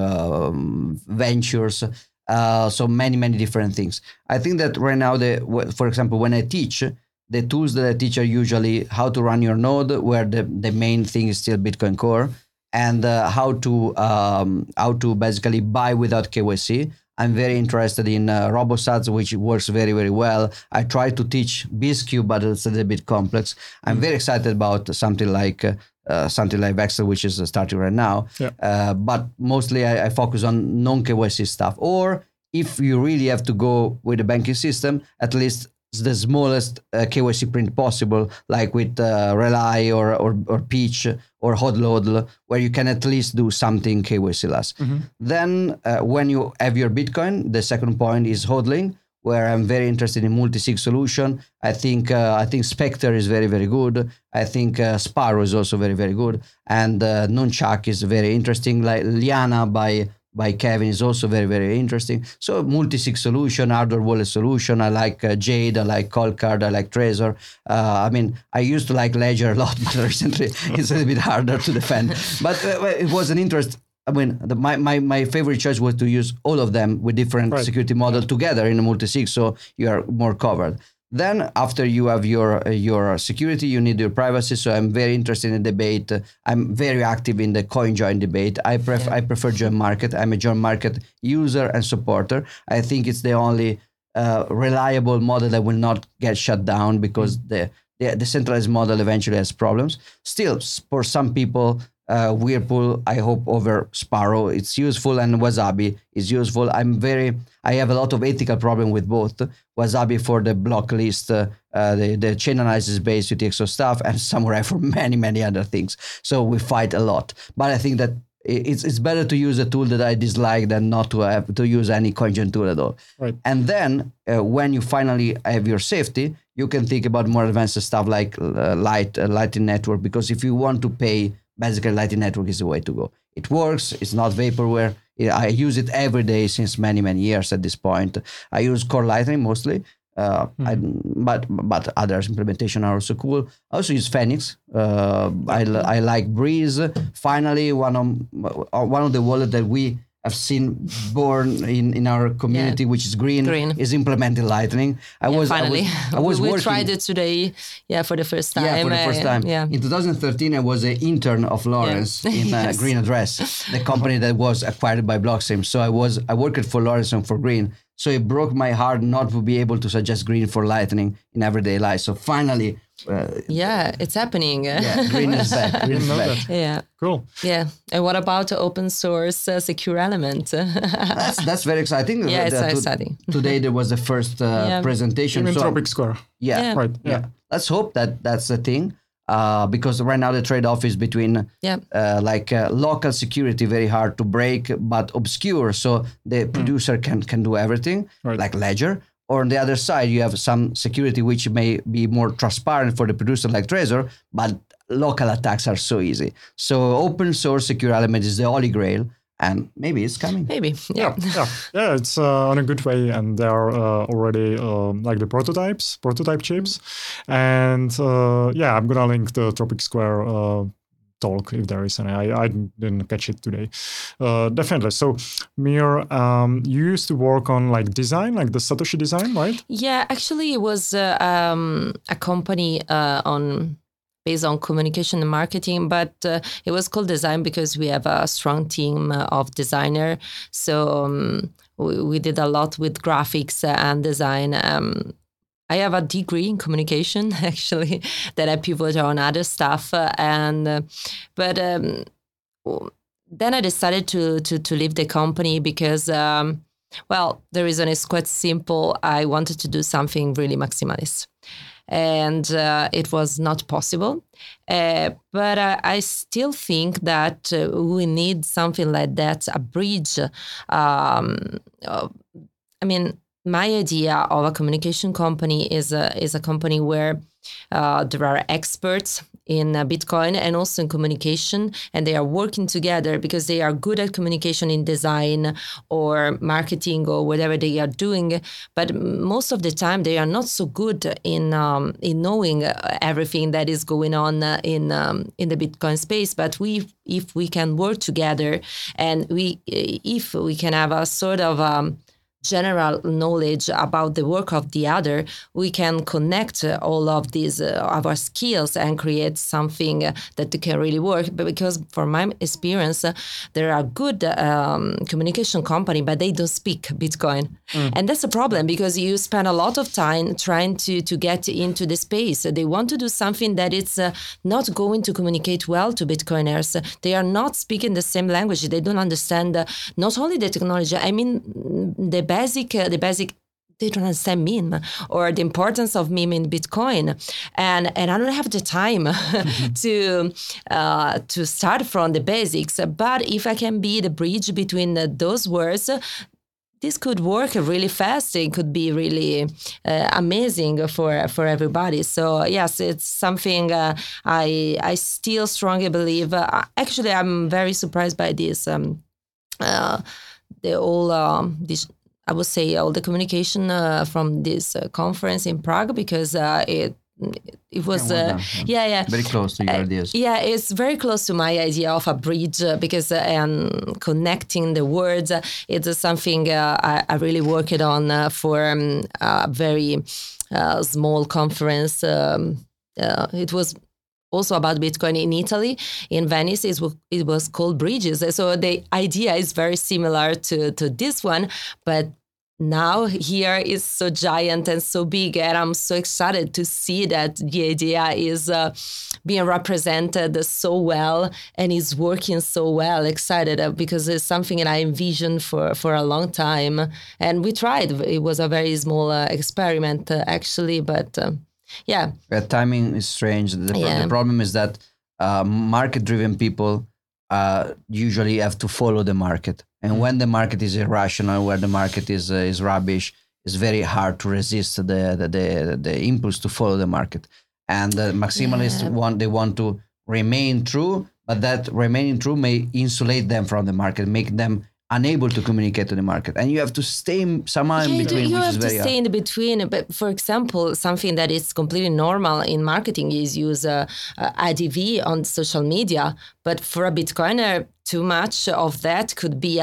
um, ventures. Uh, so many many different things. I think that right now, the for example, when I teach, the tools that I teach are usually how to run your node, where the, the main thing is still Bitcoin Core, and uh, how to um, how to basically buy without K Y C. I'm very interested in uh, RoboSats, which works very, very well. I try to teach BizQ, but it's a little bit complex. I'm mm-hmm. very excited about something like uh, uh, something like Vexel, which is starting right now. Yeah. Uh, but mostly I, I focus on non-K Y C stuff. Or if you really have to go with the banking system, at least the smallest uh, K Y C print possible, like with uh, Relay or, or or Peach or Hodl, where you can at least do something K Y C-less. Mm-hmm. Then uh, when you have your Bitcoin, the second point is hodling, where I'm very interested in multi-sig solution. I think uh, I think Spectre is very, very good. I think uh, Sparrow is also very, very good. And uh, Nunchak is very interesting. Like Liana by by Kevin is also very, very interesting. So multi-sig solution, hardware wallet solution. I like uh, Jade, I like Coldcard, I like Trezor. Uh, I mean, I used to like Ledger a lot, but recently it's a little bit harder to defend. But uh, it was an interest. I mean, the, my, my, my favorite choice was to use all of them with different right. security model together in a multi-sig, so you are more covered. Then after you have your uh, your security, you need your privacy. So I'm very interested in debate. Uh, I'm very active in the CoinJoin debate. I pref yeah. I prefer Join Market. I'm a Join Market user and supporter. I think it's the only uh, reliable model that will not get shut down because mm. the, the decentralized model eventually has problems. Still, for some people, Uh, Whirlpool, I hope, over Sparrow, it's useful, and Wasabi is useful. I'm very, I have a lot of ethical problem with both. Wasabi for the block list, uh, uh, the, the chain analysis based U T X O stuff, and Samurai for many, many other things. So we fight a lot. But I think that it's it's better to use a tool that I dislike than not to have to use any CoinJoin tool at all. Right. And then uh, when you finally have your safety, you can think about more advanced stuff like uh, Light, uh, Lightning Network, because if you want to pay, basically, Lightning Network is the way to go. It works. It's not vaporware. I use it every day since many, many years at this point. I use Core Lightning mostly, uh, mm-hmm. I, but but other implementation are also cool. I also use Phoenix. Uh, I, I like Breeze. Finally, one of one of the wallets that we have seen born in, in our community, yeah. which is Green, Green, is implementing Lightning. I yeah, was finally. I was, I was we, we working. tried it today, yeah, for the first time. Yeah, for the first time. Uh, yeah. In twenty thirteen, I was an intern of Lawrence yeah. in uh, yes. Green Address, the company that was acquired by Blockstream. So I was I worked for Lawrence and for Green. So it broke my heart not to be able to suggest Green for Lightning in everyday life. So finally. Uh, yeah, it's happening. Yeah, Green is back. Green is back. Yeah. Cool. Yeah. And what about the open source uh, secure element? that's that's very exciting. Yeah, it's uh, so to, exciting. Today there was the first uh, yeah. presentation. In so, Tropic Square. Yeah. yeah. Right. Yeah. yeah. Let's hope that that's the thing. Uh, because right now the trade-off is between yeah. uh, like uh, local security, very hard to break, but obscure, so the mm. producer can can do everything, right. like Ledger. Or on the other side, you have some security which may be more transparent for the producer like Trezor, but local attacks are so easy. So open source secure element is the holy grail, and maybe it's coming. Maybe, yeah, yeah, yeah. yeah it's uh, on a good way, and there are uh, already uh, like the prototypes, prototype chips, and uh, yeah, I'm gonna link the Tropic Square uh, talk if there is any. I, I didn't catch it today. Uh, definitely. So, Mir, um, you used to work on like design, like the Satoshi design, right? Yeah, actually, it was uh, um, a company uh, on based on communication and marketing, but uh, it was called Design because we have a strong team of designer. So um, we, we did a lot with graphics and design. Um, I have a degree in communication, actually, that I pivot on other stuff. Uh, and uh, but um, then I decided to, to to leave the company because, um, well, the reason is quite simple. I wanted to do something really maximalist. And uh, it was not possible. Uh, but uh, I still think that uh, we need something like that, a bridge. Um, uh, I mean, my idea of a communication company is a, is a company where uh, there are experts in uh, Bitcoin and also in communication, and they are working together because they are good at communication in design or marketing or whatever they are doing. But most of the time, they are not so good in um, in knowing everything that is going on in um, in the Bitcoin space. But we, if we can work together, and we, if we can have a sort of um, general knowledge about the work of the other, we can connect uh, all of these uh, our skills and create something uh, that can really work. But because from my experience, uh, there are good um, communication company, but they don't speak Bitcoin. Mm. And that's a problem because you spend a lot of time trying to, to get into the space. They want to do something that it's uh, not going to communicate well to Bitcoiners. They are not speaking the same language. They don't understand uh, not only the technology, I mean, the basic, uh, the basic they don't understand meme or the importance of meme in Bitcoin, and and I don't have the time to uh, to start from the basics. But if I can be the bridge between uh, those words, this could work really fast. It could be really uh, amazing for for everybody. So yes, it's something uh, I I still strongly believe. Uh, actually, I'm very surprised by this. Um, uh, the whole um, this. I would say all the communication uh, from this uh, conference in Prague, because uh, it it was yeah, well uh, yeah yeah very close to your uh, ideas. Yeah, it's very close to my idea of a bridge uh, because uh, and connecting the words uh, it's something uh, I, I really worked on uh, for um, a very uh, small conference. Um, uh, it was also about Bitcoin in Italy, in Venice. It was, it was called Bridges. So the idea is very similar to, to this one, but now here is so giant and so big, and I'm so excited to see that the idea is uh, being represented so well and is working so well. Excited uh, because it's something that I envisioned for, for a long time, and we tried. It was a very small uh, experiment uh, actually, but uh, yeah. The timing is strange. The, yeah. the problem is that uh, market-driven people uh, usually have to follow the market. And mm. when the market is irrational, where the market is uh, is rubbish, it's very hard to resist the the, the, the impulse to follow the market. And the maximalists yeah. want they want to remain true, but that remaining true may insulate them from the market, make them unable to communicate to the market, and you have to stay somehow yeah, in between. You, you which have is to very stay hard. in between. But for example, something that is completely normal in marketing is use uh, uh, I D V on social media. But for a Bitcoiner, too much of that could be a,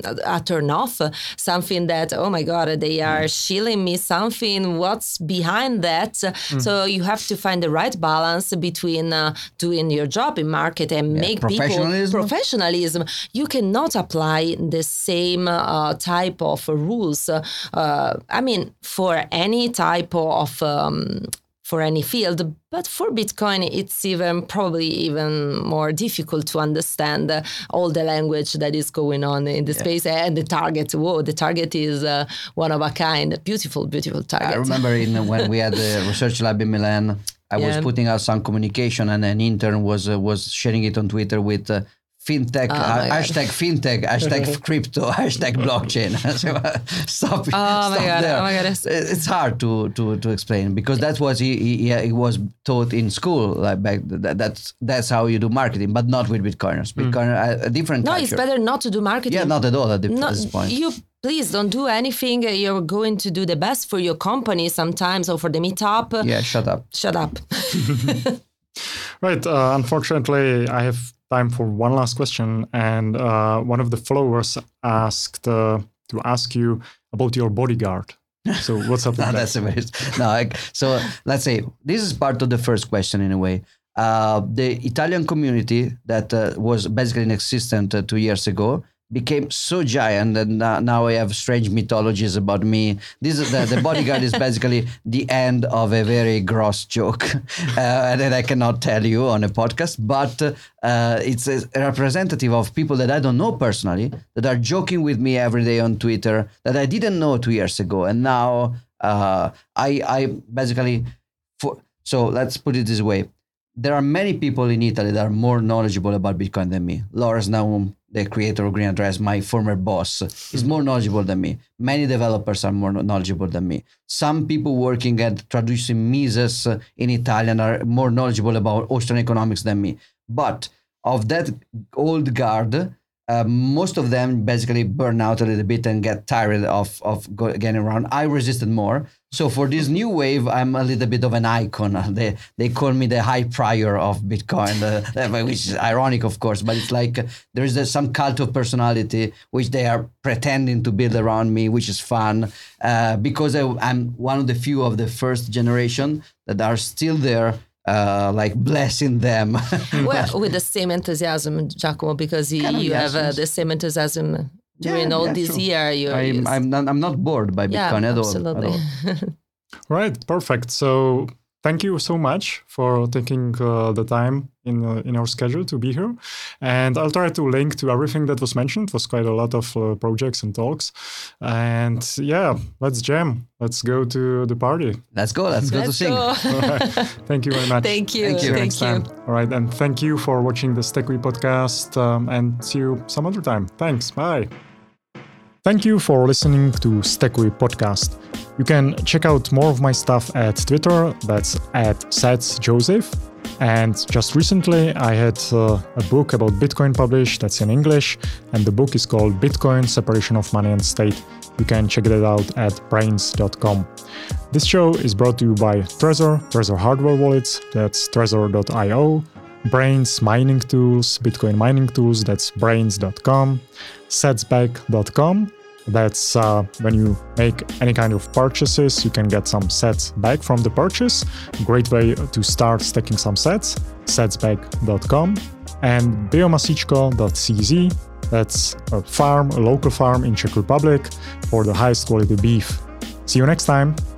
a turn off. Something that, oh my God, they are shilling me something. What's behind that? Mm. So you have to find the right balance between uh, doing your job in market and yeah, make professionalism. people professionalism. You cannot apply the same uh, type of rules. Uh, I mean, for any type of um, for any field, but for Bitcoin, it's even probably even more difficult to understand uh, all the language that is going on in the yeah. space and the target. Whoa, the target is uh, one of a kind. Beautiful, beautiful target. I remember in, when we had the research lab in Milan, I yeah. was putting out some communication, and an intern was uh, was sharing it on Twitter with uh, fintech, oh uh, hashtag fintech, hashtag crypto, hashtag blockchain. stop oh stop my God, there. Oh my God. It's hard to, to, to explain because that was he, he, he was taught in school. Like back that, that's that's how you do marketing, but not with Bitcoiners. Bitcoiner mm. a, a different. No, culture. It's better not to do marketing. Yeah, not at all at, the, no, at this point. You please don't do anything. You're going to do the best for your company sometimes or for the meetup. Yeah, shut up. Shut up. Right. Uh, unfortunately, I have time for one last question, and uh, one of the followers asked uh, to ask you about your bodyguard. So what's up with no, that? That's a very, no, I, so let's say this is part of the first question in a way. Uh, the Italian community that uh, was basically inexistent uh, two years ago became so giant that now I have strange mythologies about me. This is the, the bodyguard is basically the end of a very gross joke uh, that I cannot tell you on a podcast, but uh, it's a representative of people that I don't know personally, that are joking with me every day on Twitter that I didn't know two years ago. And now uh, I, I basically, for, so let's put it this way. There are many people in Italy that are more knowledgeable about Bitcoin than me. Lawrence Naum, the creator of Green Address, my former boss, is more knowledgeable than me. Many developers are more knowledgeable than me. Some people working at traducing Mises in Italian are more knowledgeable about Austrian economics than me. But of that old guard, uh, most of them basically burn out a little bit and get tired of, of go, getting around. I resisted more. So for this new wave, I'm a little bit of an icon. They they call me the high prior of Bitcoin, uh, which is ironic, of course, but it's like uh, there is uh, some cult of personality which they are pretending to build around me, which is fun uh, because I, I'm one of the few of the first generation that are still there, uh, like blessing them. Well, with the same enthusiasm, Giacomo, because you, you have uh, the same enthusiasm. During yeah, all yeah, this true. year, you I'm, used... I'm, not, I'm not bored by Bitcoin yeah, at all. Absolutely. At all. Right, perfect. So thank you so much for taking uh, the time in uh, in our schedule to be here. And I'll try to link to everything that was mentioned. It was quite a lot of uh, projects and talks. And yeah, let's jam. Let's go to the party. Let's go. Let's go Let's to sing. go. All right. Thank you very much. Thank you. Thank you. See you Thank next you. time. All right. And thank you for watching the StackWe podcast. Um, and see you some other time. Thanks. Bye. Thank you for listening to StackWe podcast. You can check out more of my stuff at Twitter. That's at SatsJoseph. And just recently, I had uh, a book about Bitcoin published that's in English, and the book is called Bitcoin: Separation of Money and State. You can check it out at brains dot com. This show is brought to you by Trezor, Trezor hardware wallets, that's trezor dot io, Brains mining tools, Bitcoin mining tools, that's brains dot com, satsback dot com. That's uh, when you make any kind of purchases, you can get some sats back from the purchase. Great way to start stacking some sats, satsback dot com, and biomasičko dot c z. That's a farm, a local farm in Czech Republic for the highest quality beef. See you next time.